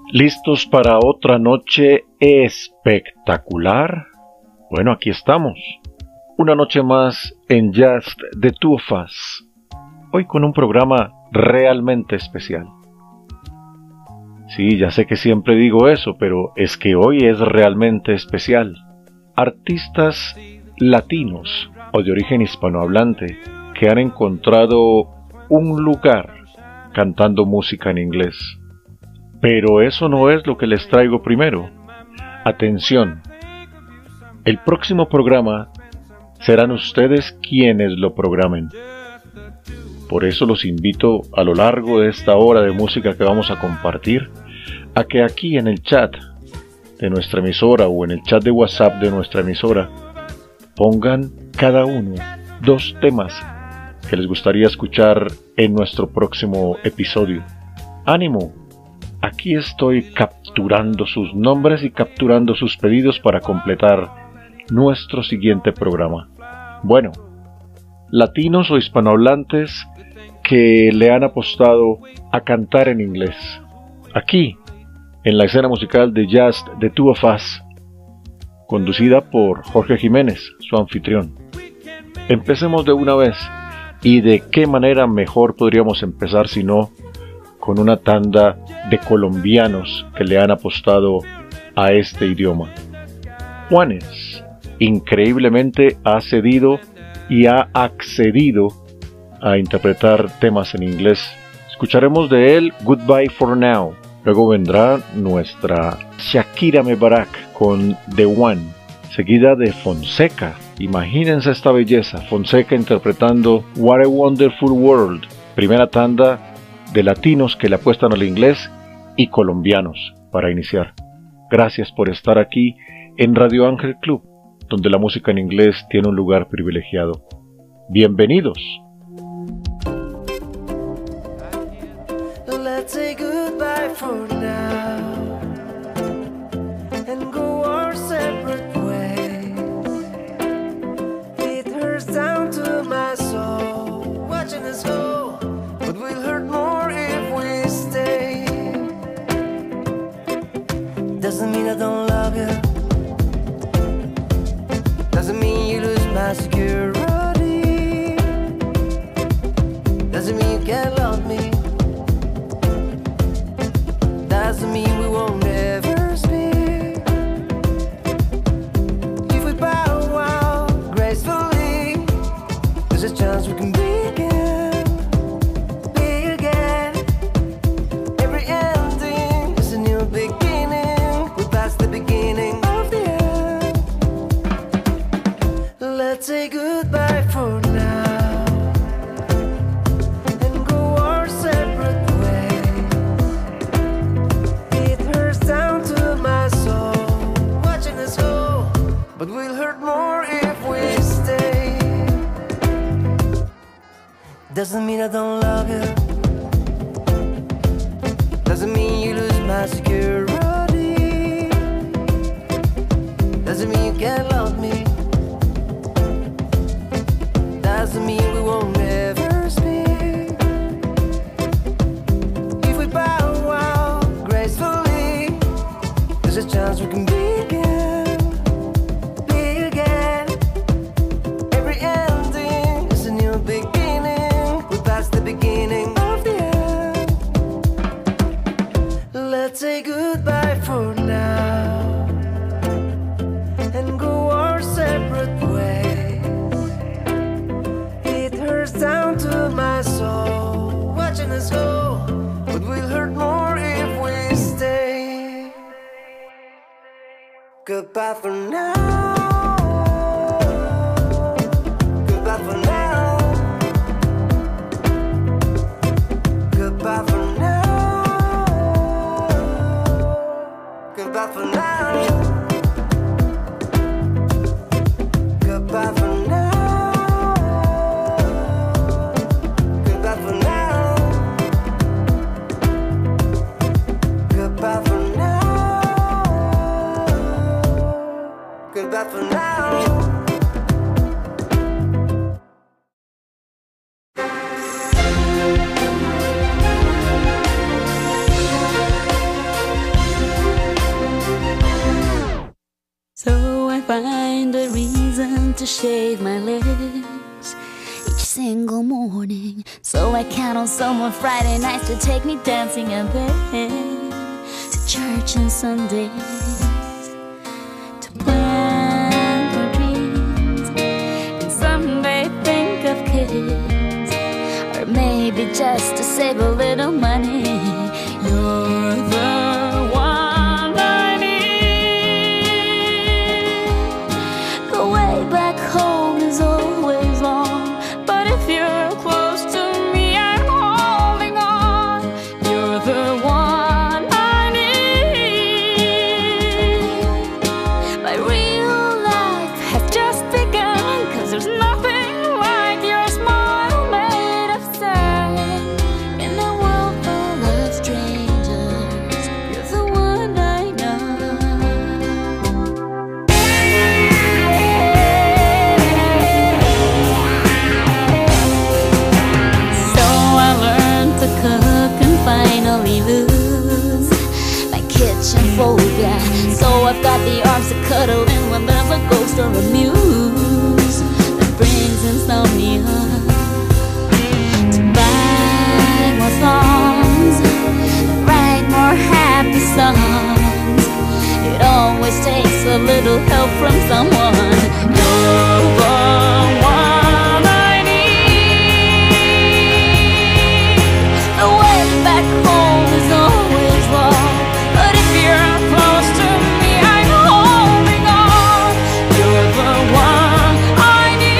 ¿Listos para otra noche espectacular? Bueno, aquí estamos. Una noche más en Just the Two of Us. Hoy con un programa realmente especial. Sí, ya sé que siempre digo eso, pero es que hoy es realmente especial. Artistas latinos o de origen hispanohablante que han encontrado un lugar cantando música en inglés. Pero eso no es lo que les traigo primero. Atención, el próximo programa serán ustedes quienes lo programen. Por eso los invito a lo largo de esta hora de música que vamos a compartir, a que aquí en el chat de nuestra emisora o en el chat de WhatsApp de nuestra emisora pongan cada uno 2 temas que les gustaría escuchar en nuestro próximo episodio. ¡Ánimo! Aquí estoy capturando sus nombres y capturando sus pedidos para completar nuestro siguiente programa. Bueno, latinos o hispanohablantes que le han apostado a cantar en inglés. Aquí, en la escena musical de Just the Two of Us, conducida por Jorge Jiménez, su anfitrión. Empecemos de una vez. ¿Y de qué manera mejor podríamos empezar si no con una tanda de colombianos que le han apostado a este idioma? Juanes, increíblemente ha cedido y ha accedido a interpretar temas en inglés. Escucharemos de él Goodbye for Now. Luego vendrá nuestra Shakira Mebarak con The One, seguida de Fonseca. Imagínense esta belleza, Fonseca interpretando What a Wonderful World. Primera tanda de latinos que le apuestan al inglés y colombianos para iniciar. Gracias por estar aquí en Radio Ángel Club, donde la música en inglés tiene un lugar privilegiado. Bienvenidos. Let's say goodbye for now and go our separate ways. It hurts down to my soul watching us go, but we'll hurt more if we stay. Doesn't mean I don't love you, doesn't mean you lose my security, doesn't mean you can't love me, doesn't mean we won't ever speak. If we bow out gracefully, there's a chance we can begin, be again. Every ending is a new beginning. We passed the beginning of the end. Let's say goodbye for now and go our separate ways. It hurts down to my soul watching us go, but we'll hurt more if we stay. Doesn't mean I don't love you, doesn't mean you lose my security, doesn't mean you can't love me, doesn't mean we won't ever speak. If we bow out gracefully, there's a chance we can begin, be again. Every ending is a new beginning. We passed the beginning of the end. Let's say goodbye for now and go our separate ways. It hurts down to my soul watching us go, but we'll hurt more if we stay. Goodbye for now. Goodbye for now. Goodbye for now. Goodbye for now. Goodbye for now. Goodbye for now. Goodbye for now. to shave my legs each single morning. So I count on someone Friday nights to take me dancing and bed, to church on Sundays, to plan for dreams, and someday think of kids, or maybe just to save a little money. You're the one I need. The way back home is always long, but if you're close to me, I'm holding on. You're the one I need. My real life has just begun, 'cause there's nothing like your smile made of sand. In a world full of strangers, you're the one I know. So I learned to cook and finally lose my kitchen phobia. So I've got the arms to cuddle in when there's a ghost or a muse that brings insomnia. To buy more songs, write more happy songs. It always takes a little help from someone. You're the one I need. The way back home is always long, but if you're close to me, I'm holding on. You're the one I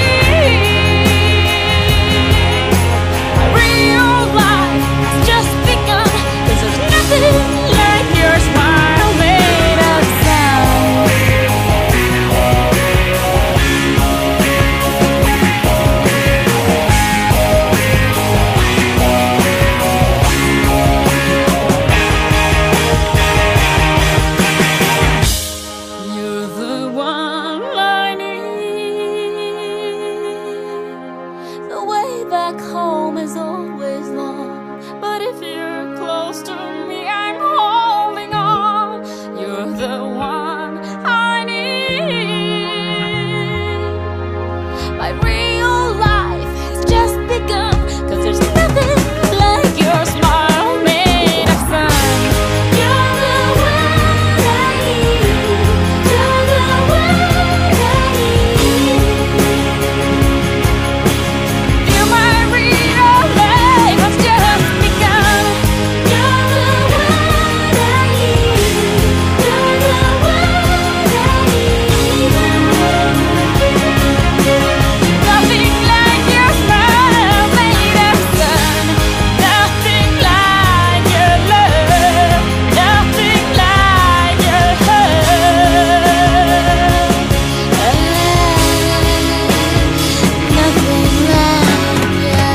need. My real life has just begun, 'cause there's nothing like your smile made of sound. You're the one I need. The way back home is always long, but if you're close to me, I'm holding on. You're the one I need. My real life has just begun, 'cause there's nothing like your smile made of sun. You're the one I need. You're the one I need. Feel my real life has just begun. You're the one I need. You're the one I need. Nothing like your smile made of sun. Nothing like your love. Nothing like your hug. Nothing like your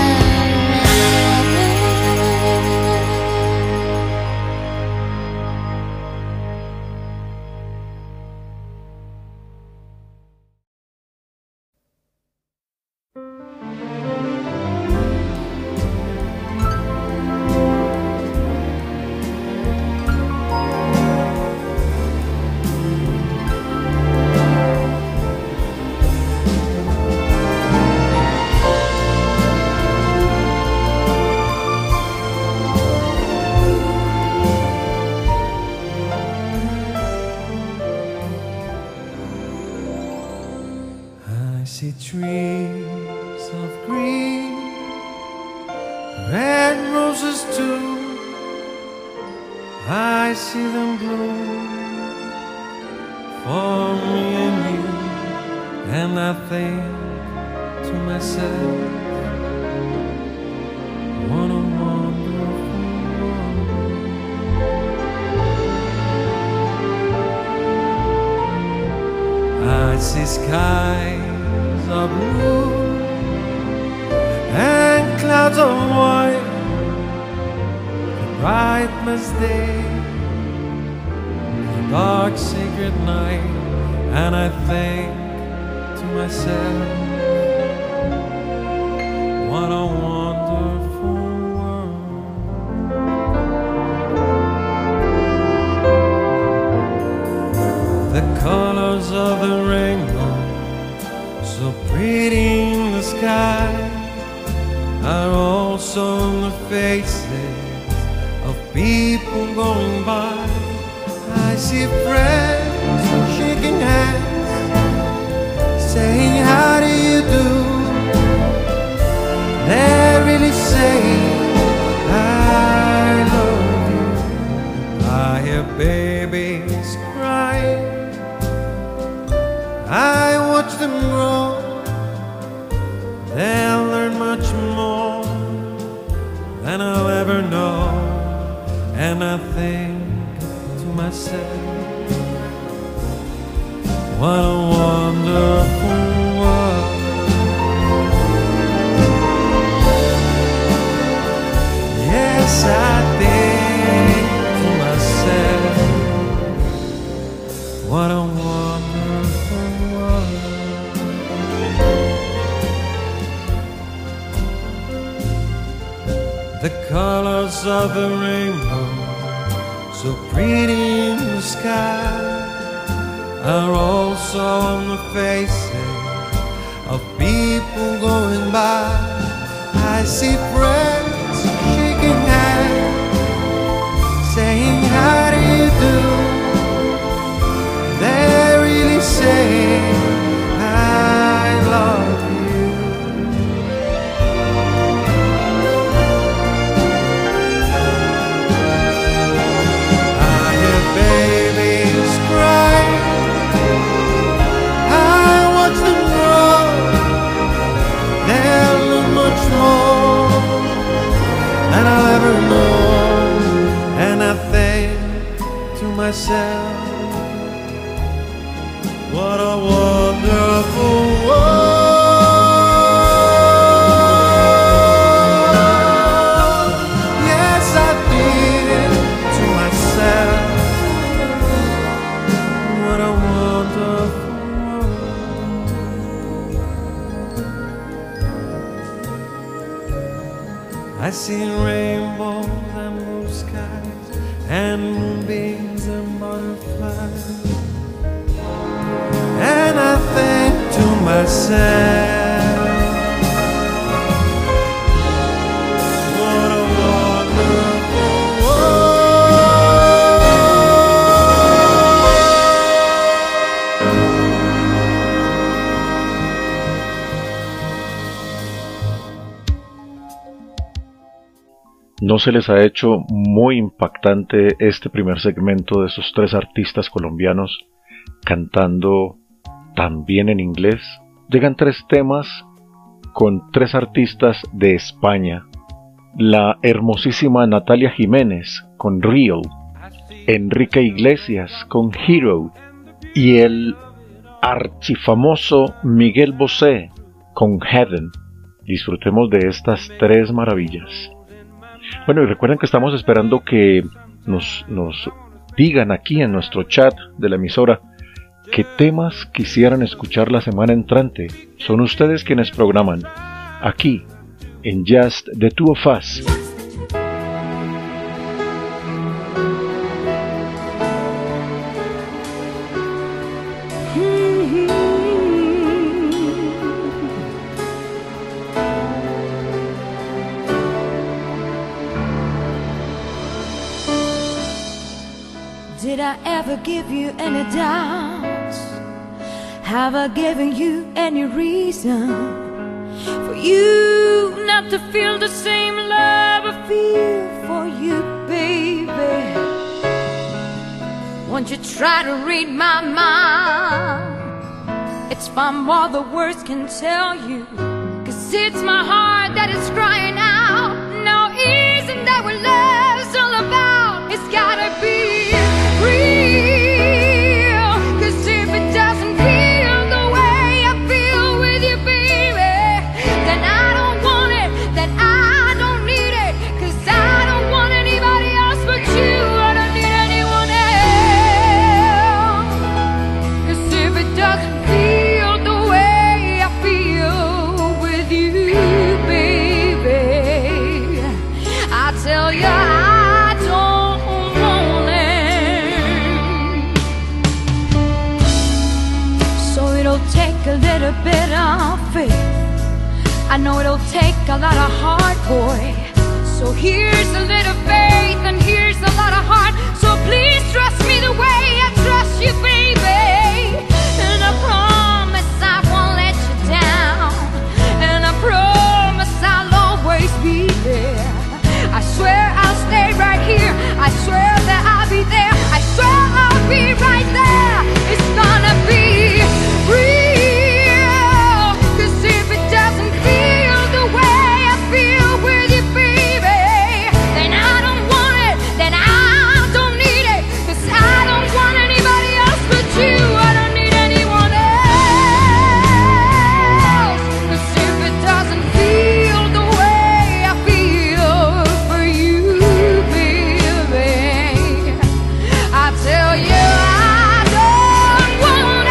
I see trees of green, red roses too. I see them bloom for me and you, and I think to myself, what a wonderful world. I see skies of blue and clouds of white, the bright misty, the dark sacred night, and I think to myself, what a wonderful world. The colors of the rainbow, so so pretty in the sky are also on the faces of people going by. I see friends shaking hands, saying how do you do. They're really saying I love you. I hear babies crying, I watch them grow. They'll learn much more than I'll ever know. And I think to myself, what a wonderful world. Yes, I think to myself, what a wonderful world. The colors of the rainbow, so pretty in the sky, are also on the faces of people going by. I see friends shaking hands, saying how do you do. They're really saying I love you. I hear babies cry, I watch them grow. They'll learn much more than I'll ever know. And I think to myself, what a wonderful world. Yes, I did to myself, what a wonderful world. I see rainbows and blue skies and moonbeams and butterflies. And I think to myself, what a wonderful world. ¿No se les ha hecho muy impactante este primer segmento de esos tres artistas colombianos cantando también en inglés? Llegan tres temas con tres artistas de España: la hermosísima Natalia Jiménez con Real, Enrique Iglesias con Hero y el archifamoso Miguel Bosé con Heaven. Disfrutemos de estas tres maravillas. Bueno, y recuerden que estamos esperando que nos digan aquí en nuestro chat de la emisora qué temas quisieran escuchar la semana entrante. Son ustedes quienes programan aquí en Just the Two of Us. Did I ever give you any doubts? Have I given you any reason for you not to feel the same love I feel for you, baby? Won't you try to read my mind? It's far more the words can tell you, 'cause it's my heart that is crying out. No, isn't that what love's all about? It's gotta be real, 'cause if it doesn't feel the way I feel with you, baby, then I don't want it, then I don't need it, 'cause I don't want anybody else but you. I don't need anyone else, 'cause if it doesn't feel the way I feel with you, baby, a little bit of faith. I know it'll take a lot of heart, boy. So here's a little faith and here's a lot of heart. So please trust me the way I trust you, baby. And I promise I won't let you down. And I promise I'll always be there. I swear I'll stay right here. I swear that I'll be there. I swear I'll be right there. It's gonna be real. 'Cause if it doesn't feel the way I feel with you, baby, then I don't want it, then I don't need it. 'Cause I don't want anybody else but you. I don't need anyone else. 'Cause if it doesn't feel the way I feel for you, baby, I tell you I don't want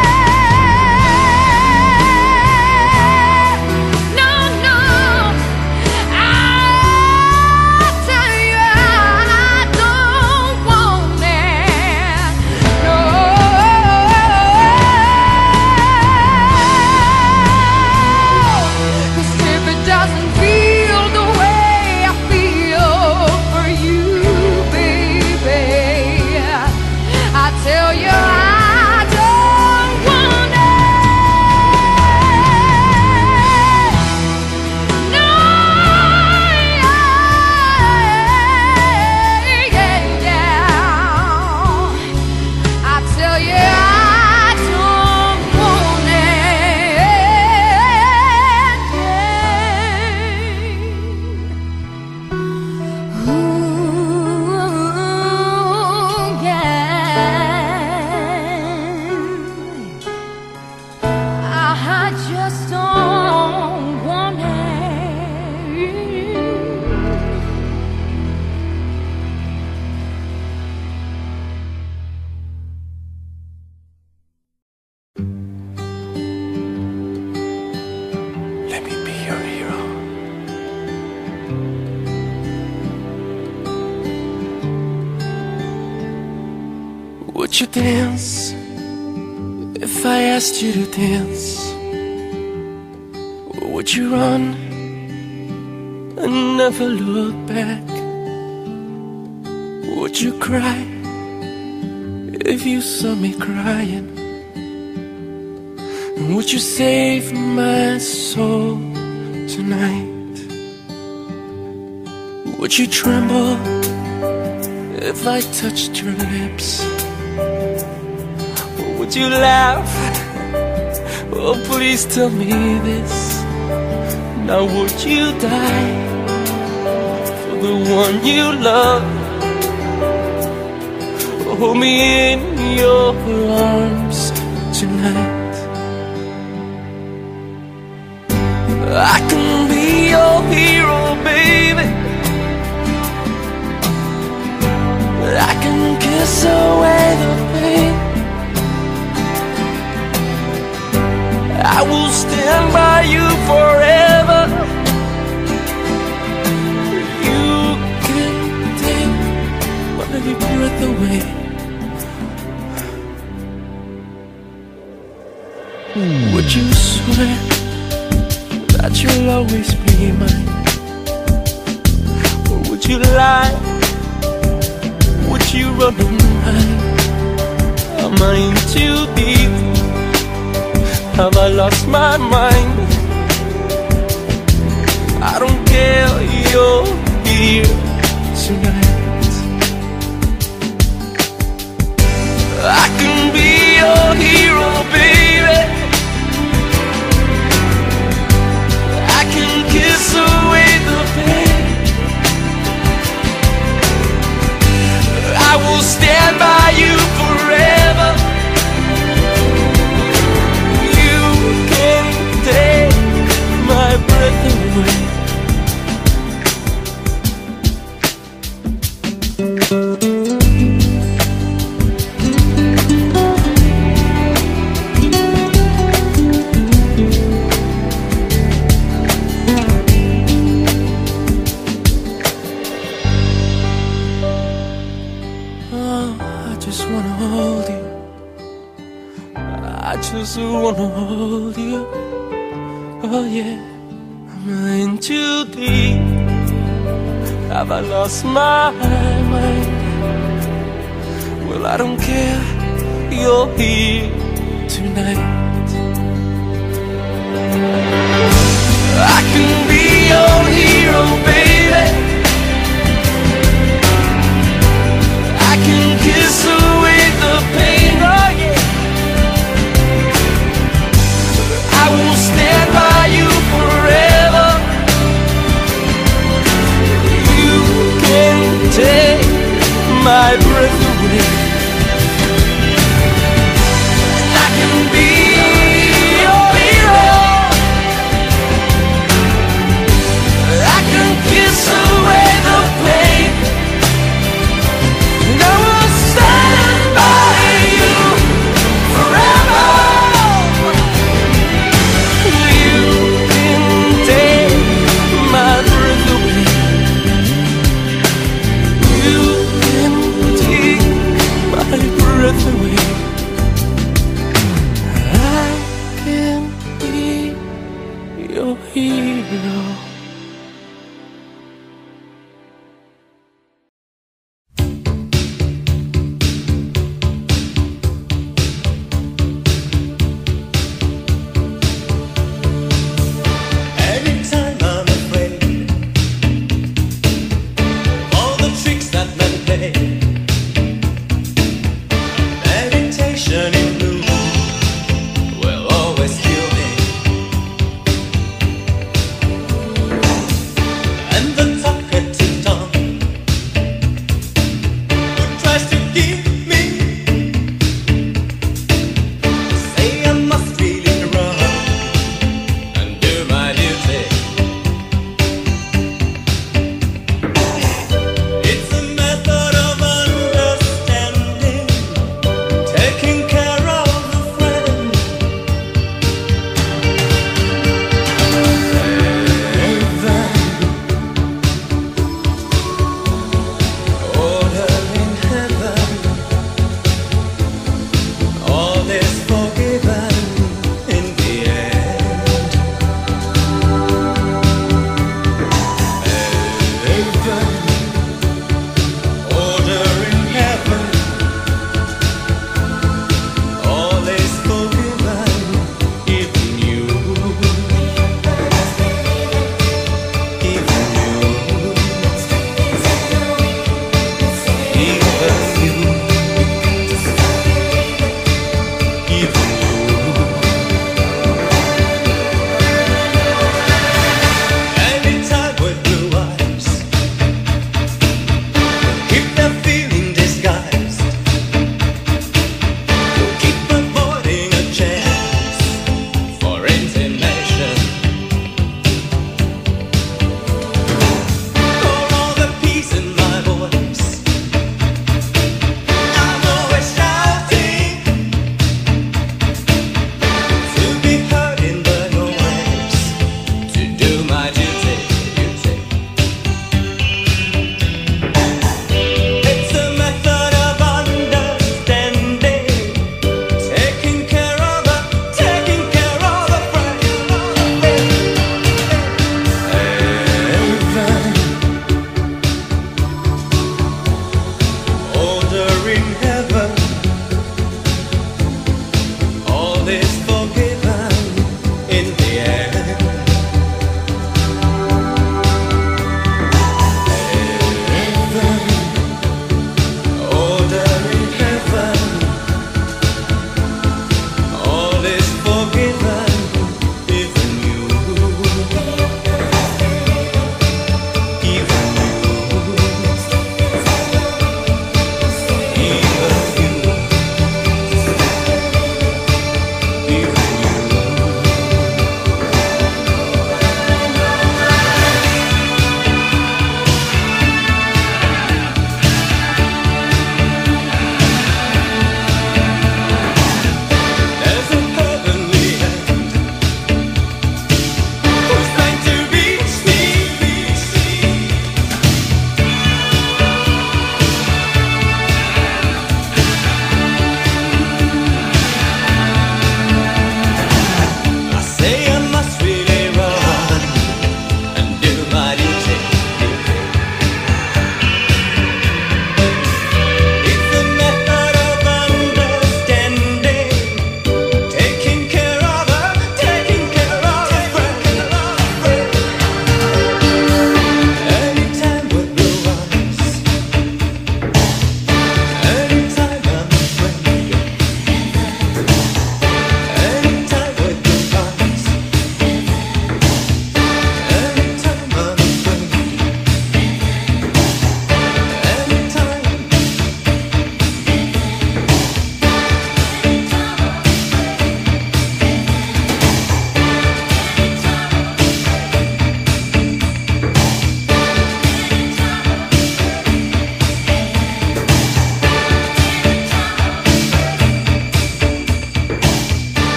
it. No, no, I tell you I don't want it. No, 'cause if it doesn't feel the way I feel for you, baby, I tell you I don't want it. No, yeah. I tell you I don't want it. Ooh, yeah. I just don't want it. Let me be your hero. Would you dance if I asked you to dance? Or would you run and never look back? Would you cry if you saw me crying? And would you save my soul tonight? Would you tremble if I touched your lips? Or would you laugh? Oh, please tell me this. Now would you die for the one you love? Hold me in your arms tonight. I can be your hero, baby. I can kiss away the pain. I will stand by you forever. You can take my breath away. Would you swear that you'll always be mine? Or would you lie? Would you run and hide? Am I in too deep? Have I lost my mind? I don't care, you're here tonight. I can be your hero, baby. I can kiss away the pain. I will stand by you forever. You can take my breath away. I just wanna hold you. Oh yeah, am I in too deep? Have I lost my mind? Well, I don't care, you're here tonight. I can be your hero, baby. I can kiss away the pain, oh yeah. I will stand by you forever. You can take my breath away. I can be your hero. I can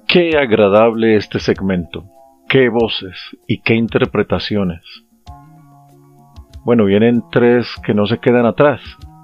Qué agradable este segmento, qué voces y qué interpretaciones. Bueno, vienen tres que no se quedan atrás.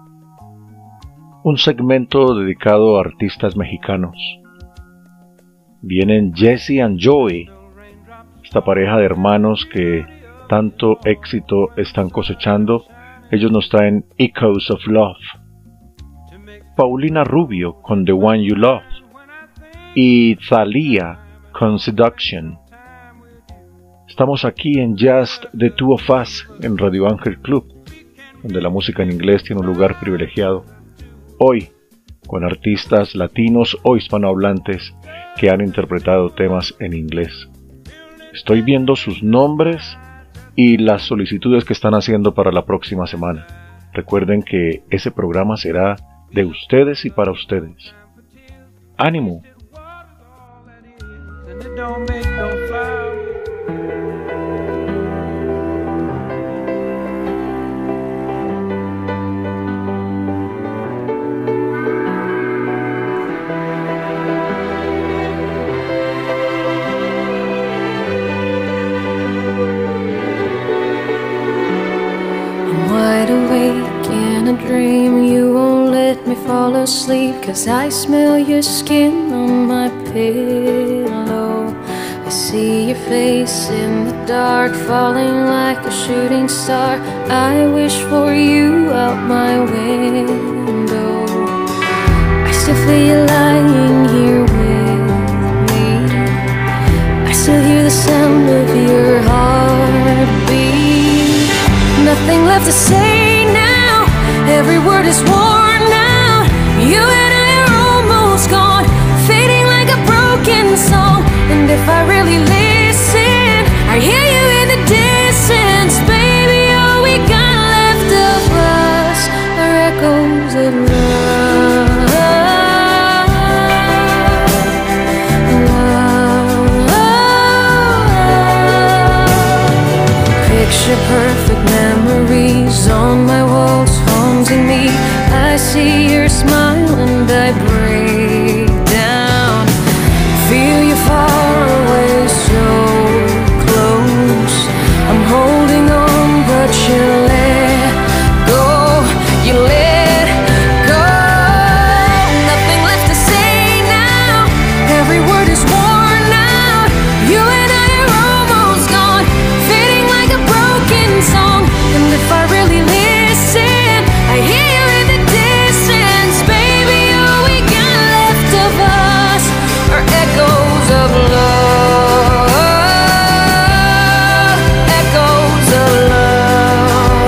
Un segmento dedicado a artistas mexicanos. Vienen Jesse and Joey, esta pareja de hermanos que tanto éxito están cosechando. Ellos nos traen Echoes of Love. Paulina Rubio con The One You Love. Y Thalia con Seduction. Estamos aquí en Just the Two of Us en Radio Ángel Club, donde la música en inglés tiene un lugar privilegiado. Hoy, con artistas latinos o hispanohablantes que han interpretado temas en inglés. Estoy viendo sus nombres y las solicitudes que están haciendo para la próxima semana. Recuerden que ese programa será de ustedes y para ustedes. ¡Ánimo! And it don't make no flower. I'm wide awake in a dream. You won't let me fall asleep, 'cause I smell your skin on my pillow. I see your face in the dark, falling like a shooting star. I wish for you out my window. I still feel you lying here with me. I still hear the sound of your heartbeat. Nothing left to say now, every word is worn out. You and I are almost gone, fading like a broken song. And if I really listen, I hear you in the distance. Baby, all we got left of us are echoes of love. Picture perfect memories on my walls haunting me. I see your smile and I break down. Feel you far away, so close. I'm holding on, but you let go. You let go. Nothing left to say now, every word is worn out. You and I are almost gone, fading like a broken song. And if I really listen, I hear you in the distance. Baby, all we got left of us are echoes of love. Echoes of love.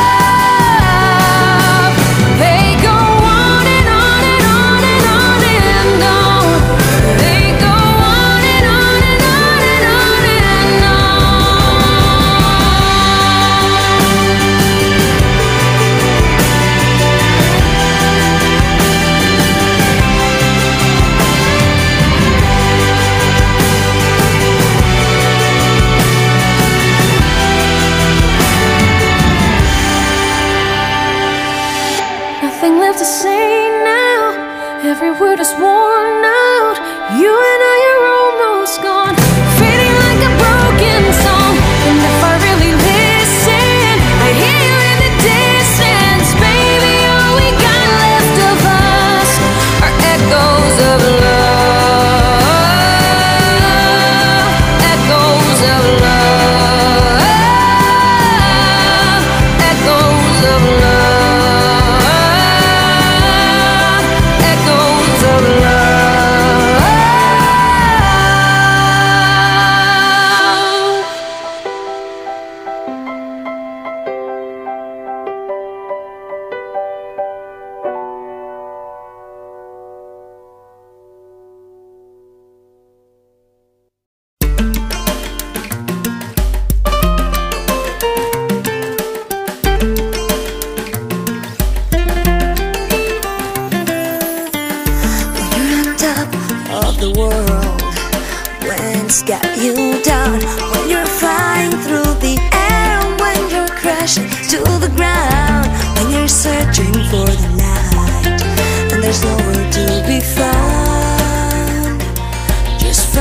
They go on and on and on and on and on. They go on and on and on and on and Nothing left to say now, every word is worn out. You and I are almost gone, fading like a broken song. And if I really listen, I hear you in the distance. Baby, all we got left of us are echoes of love. Echoes of love. Echoes of love. Echoes of love. You're on top of the world, winds got you down. When you're flying through the air, when you're crashing to the ground, when you're searching for the light and there's nowhere to be found. Just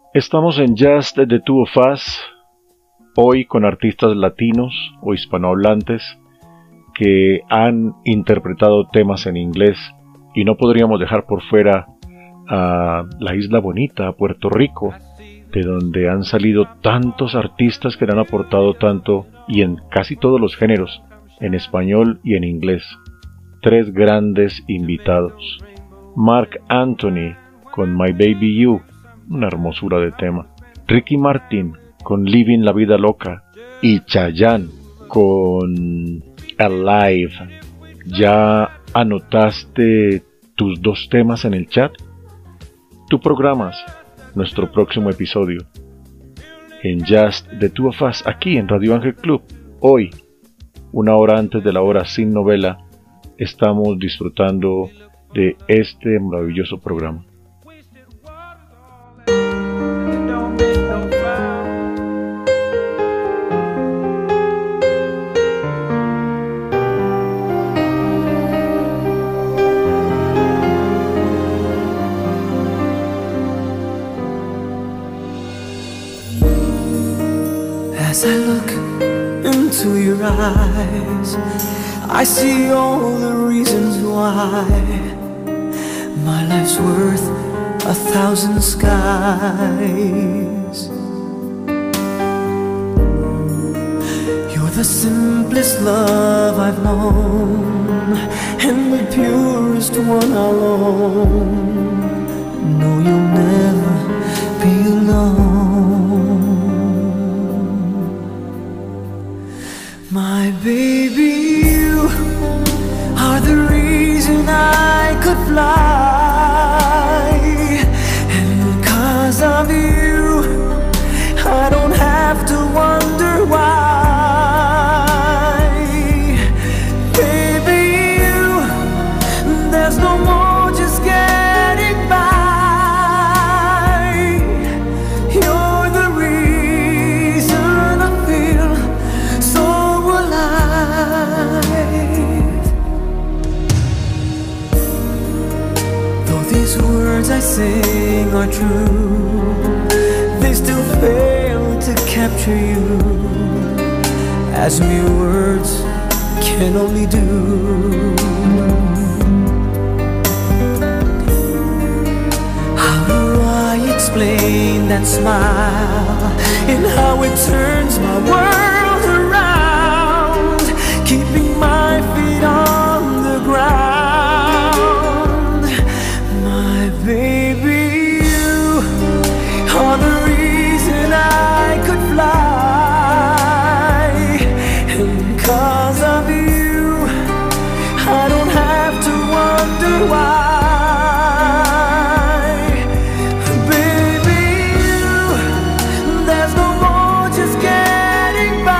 Estamos en Just the Two of Us, hoy con artistas latinos o hispanohablantes que han interpretado temas en inglés, y no podríamos dejar por fuera a la Isla Bonita, a Puerto Rico, de donde han salido tantos artistas que le han aportado tanto, y en casi todos los géneros, en español y en inglés. 3 grandes invitados. Marc Anthony con My Baby You, una hermosura de tema. Ricky Martin con Living la Vida Loca. Y Chayanne con Alive. ¿Ya anotaste tus 2 temas en el chat? Tú programas nuestro próximo episodio en Just the Two of Us, aquí en Radio Ángel Club. Hoy, 1 hora antes de la hora sin novela, estamos disfrutando de este maravilloso programa. As I look into your eyes, I see all the reasons why my life's worth 1,000 skies. You're the simplest love I've known, and the purest one I'll own. No, you'll never be alone. My baby, you are the reason I could fly, and 'cause of you, I don't have to wonder why. Baby, you, there's no more just getting by. You're the reason I feel so alive. Though these words I sing are true, they still fail to capture you, as mere words can only do. How do I explain that smile and how it turns my world around, keeping my feet on the ground? My baby, you are the reason I could fly, and 'cause of you, I don't have to wonder why. Baby, you, there's no more just getting by.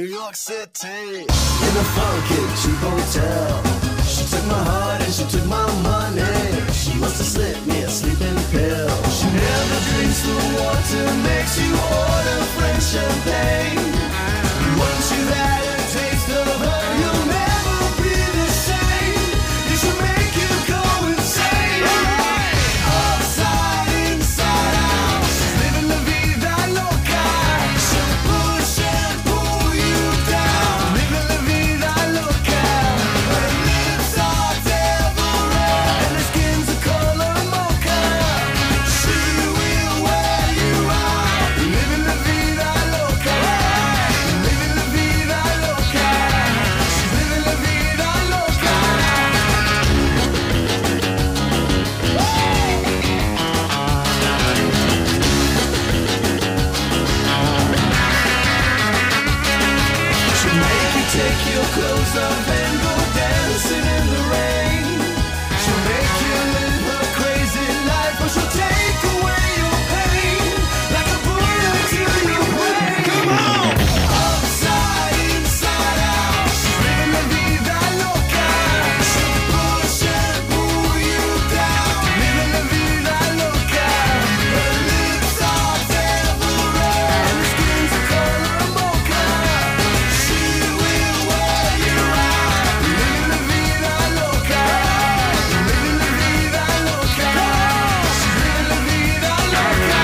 New York City. In a funky cheap hotel. She took my heart and she took my money. She must have slipped me a sleeping pill. She never drinks the water, makes you order French champagne. Once you've had a taste of her, you'll never be the same. It should make you go insane. Upside, inside out, she's living la vida loca. She'll push and pull you down, living la vida loca. Her lips are devil red and her skin's the color mocha. She will wear you out, living la vida loca. Living la vida loca. She's living la vida loca. She'll make you take your clothes off and go dancing in the rain. She'll make you live her crazy life, but she'll take away your pain like a bullet to your brain. Come on! Upside, inside out, she's living la vida loca. She'll push and pull you down, living la vida loca. Her lips are devil red and her skin's the color mocha. She will wear you out, living la vida loca. Living la vida loca. She's living la vida loca.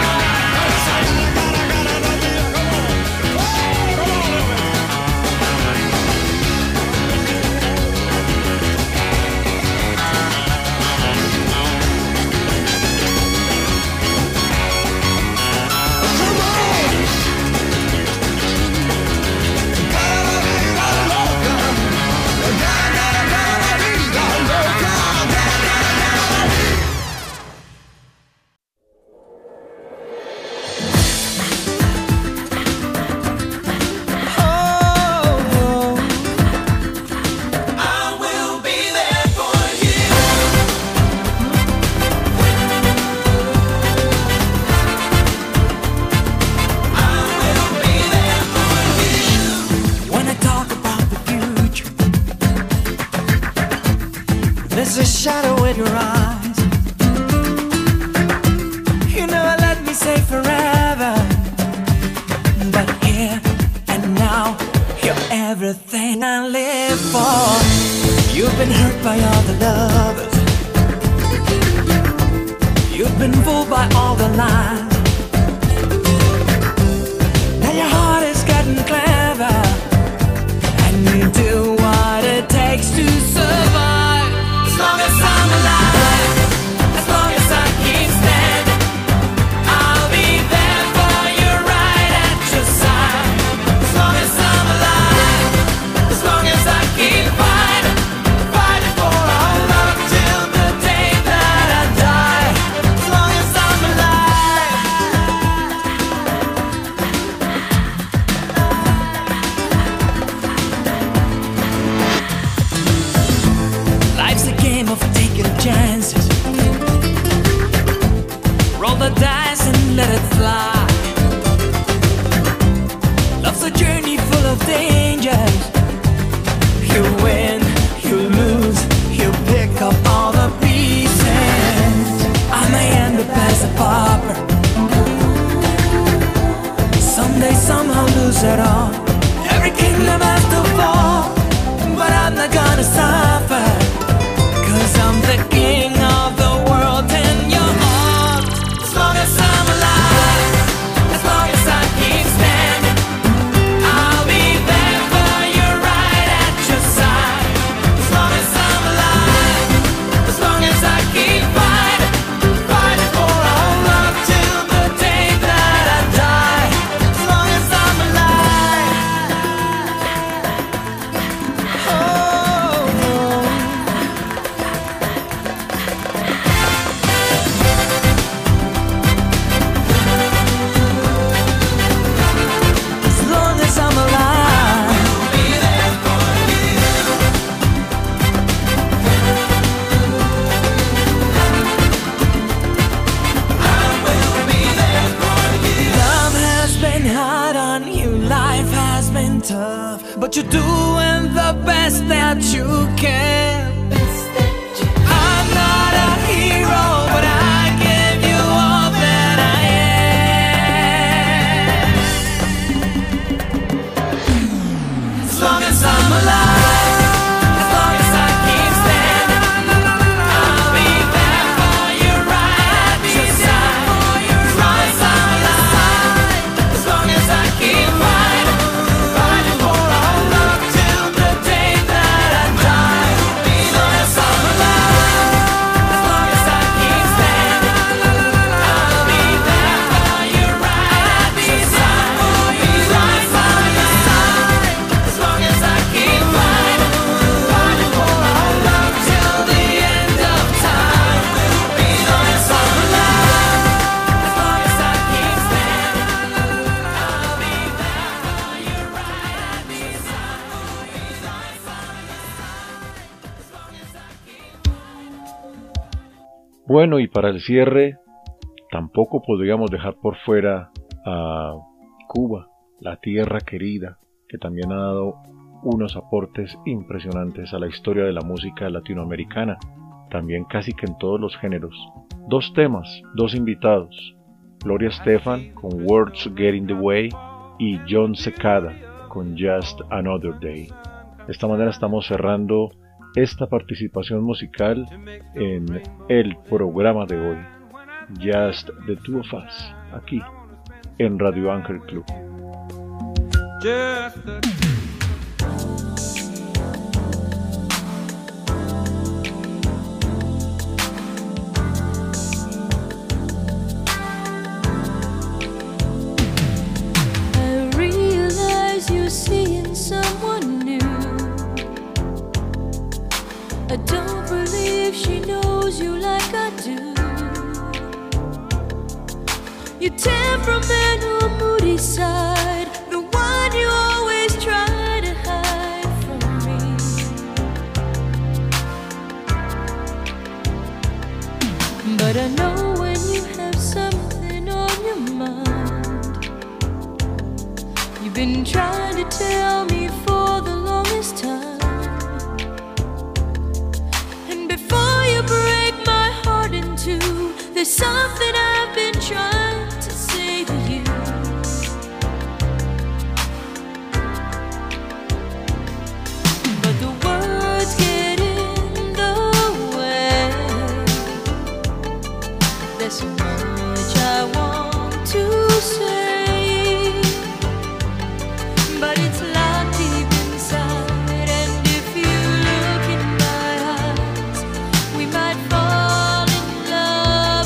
I will be there for you. I will be there for you. When I talk about the future, there's a shadow in your eyes. You never let me say forever, but here and now, you're everything I live for. You've been hurt by all the lovers. You've been fooled by all the lies. Now your heart is getting clever, and you do what it takes to survive. As long as I'm alive, as long as I keep standing, I'll be there for you, right at your side. As long as I'm alive, as long as I keep fighting, fighting for our love till the day that I die. As long as I'm alive. Life's a game of taking chances. Roll the dice and let it fly. Love's a journey full of dangers. You win, you lose, you pick up all the pieces. I may end up as a pauper, someday somehow lose it all. Every kingdom has to fall, but I'm not gonna suffer, 'cause I'm the king of the world and you're all. As long as I'm alive, as long as I keep standing, I'll be there for you, right at your side. tough, but you're doing the best that you can. I'm not a hero, but I give you all that I am. As long as I'm alive, as long as I keep standing, I'll be there for you, right beside you. As long as I'm alive, as long as I keep fighting, fighting for our love till the day that I die. As long as I'm alive, as long as I keep standing, I'll be there for you, right beside you. As long as I'm alive, as long as I keep fighting, fighting for our love till the end of time. As long as I'm alive, as long as I keep standing, I'll be there for you, right beside you. As long as I'm alive, as long as I keep. Bueno, y para el cierre, tampoco podríamos dejar por fuera a Cuba, la tierra querida, que también ha dado unos aportes impresionantes a la historia de la música latinoamericana, también casi que en todos los géneros. Dos temas, dos invitados, Gloria Estefan con Words Get in the Way y John Secada con Just Another Day. De esta manera estamos cerrando esta participación musical en el programa de hoy, Just the Two of Us, aquí en Radio Ángel Club. Just the I realize you're seeing someone new. I don't believe she knows you like I do. Your temperamental, moody side, the one you always try to hide from me. But I know when you have something on your mind. You've been trying to tell me for the longest time. And before you break my heart in two, there's something I've been trying to say to you. But the words get in the way. There's so much I want to say, but it's locked deep inside. And if you look in my eyes, we might fall in love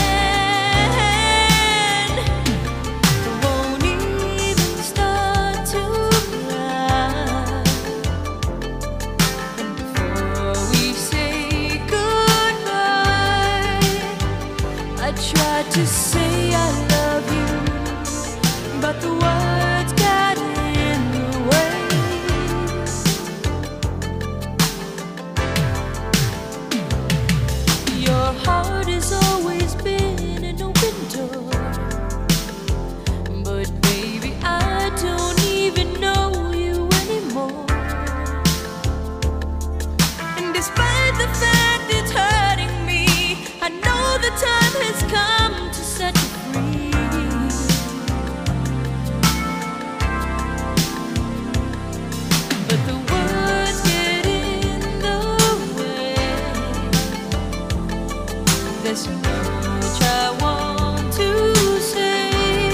again. I won't even start to cry. And before we say goodbye, I tried to say I love you, but the words got in the way. Your heart has always been an open door, but baby, I don't even know you anymore. And despite the fact it's hurting me, I know the time has come to set you free. But the words get in the way. There's so much I want to say,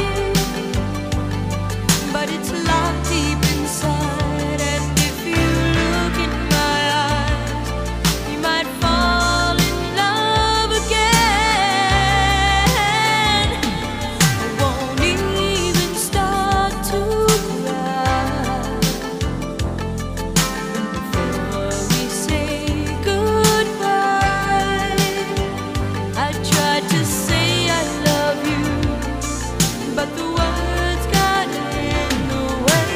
but it's locked deep inside. And if you look in my eyes, you might fall in love again. I won't even start to cry. Before we say goodbye, I tried to say I love you, but the words got in the way.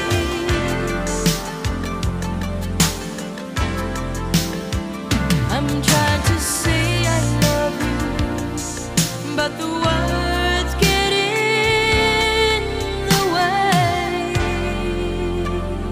I'm trying to say I love you, but the words get in the way.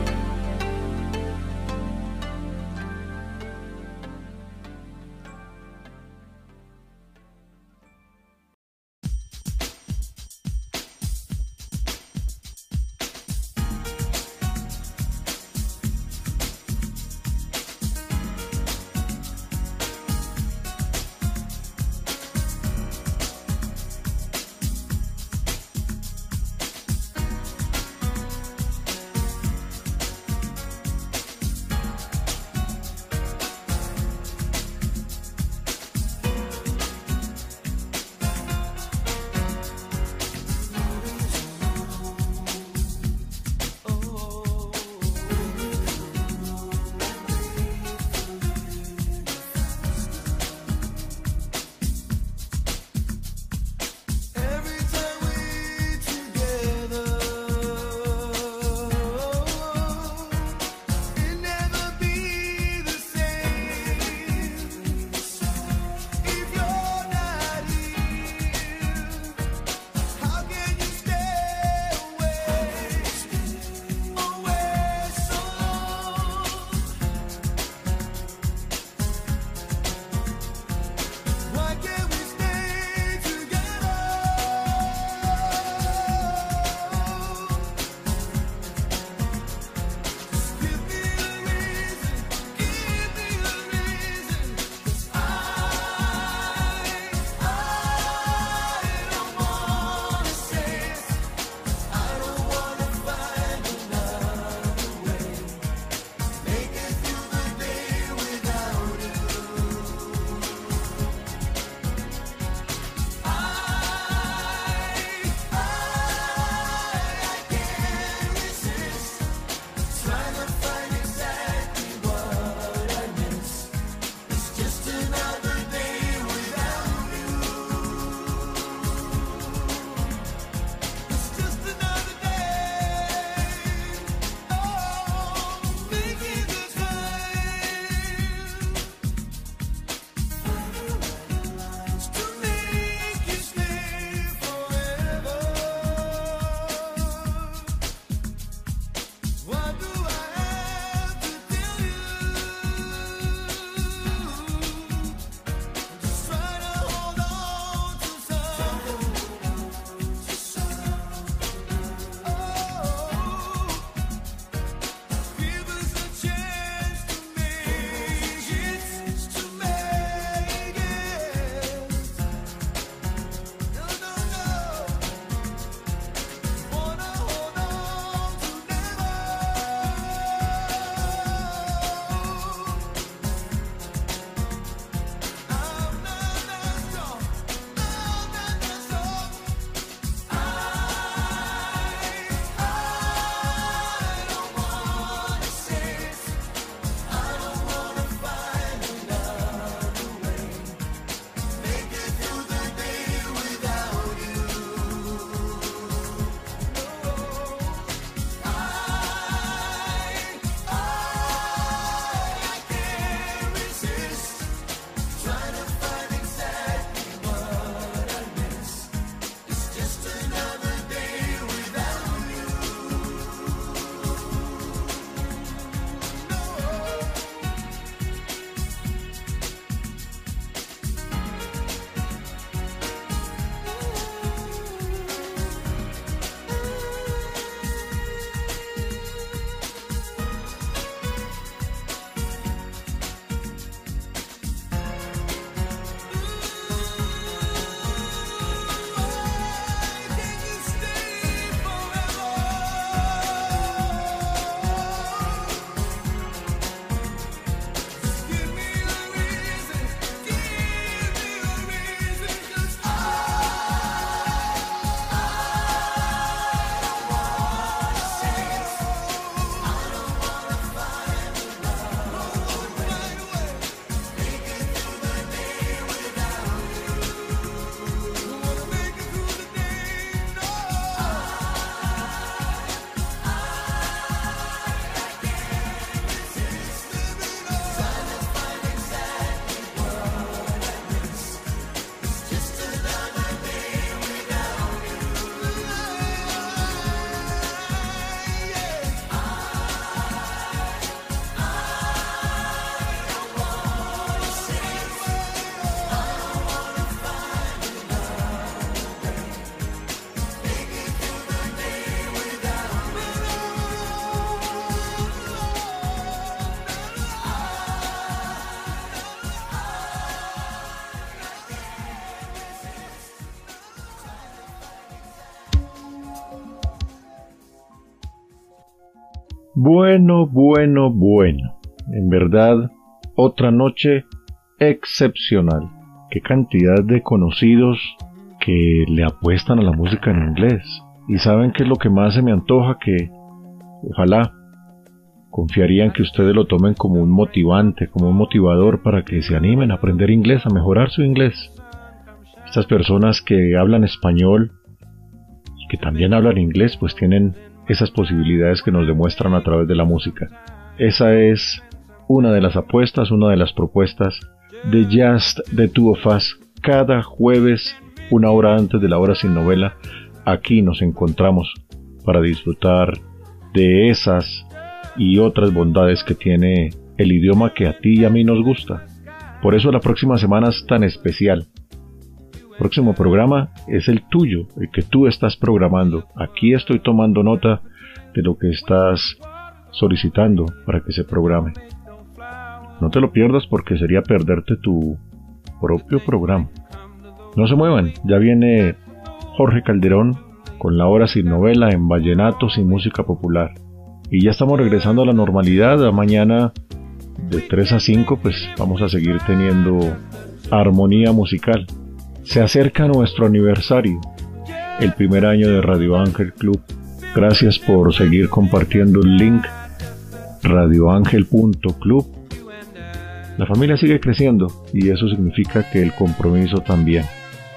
Bueno, bueno, bueno. En verdad, otra noche excepcional. Qué cantidad de conocidos que le apuestan a la música en inglés. Y saben qué es lo que más se me antoja, que ojalá confiarían que ustedes lo tomen como un motivante, como un motivador para que se animen a aprender inglés, a mejorar su inglés. Estas personas que hablan español y que también hablan inglés, pues tienen esas posibilidades que nos demuestran a través de la música. Esa es una de las apuestas, una de las propuestas de Just the Two of Us. Cada jueves, una hora antes de la hora sin novela, aquí nos encontramos para disfrutar de esas y otras bondades que tiene el idioma que a ti y a mí nos gusta. Por eso la próxima semana es tan especial. El próximo programa es el tuyo, el que tú estás programando. Aquí estoy tomando nota de lo que estás solicitando para que se programe. No te lo pierdas porque sería perderte tu propio programa. No se muevan, ya viene Jorge Calderón con la hora sin novela en vallenatos y música popular. Y ya estamos regresando a la normalidad. A mañana de 3 a 5 pues vamos a seguir teniendo armonía musical. Se acerca nuestro aniversario, el primer año de Radio Ángel Club. Gracias por seguir compartiendo el link radioangel.club. La familia sigue creciendo y eso significa que el compromiso también.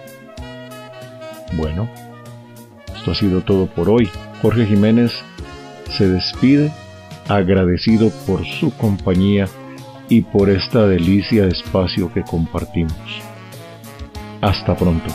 Bueno, esto ha sido todo por hoy. Jorge Jiménez se despide, agradecido por su compañía y por esta delicia de espacio que compartimos. Hasta pronto.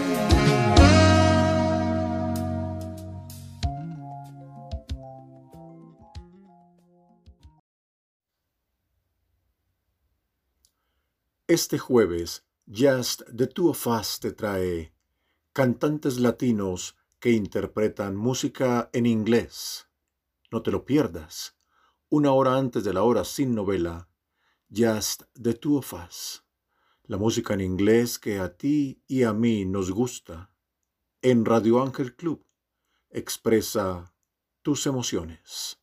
Este jueves, Just the Two of Us te trae cantantes latinos que interpretan música en inglés. No te lo pierdas. Una hora antes de la hora sin novela, Just the Two of Us. La música en inglés que a ti y a mí nos gusta. En Radio Ángel Club. Expresa tus emociones.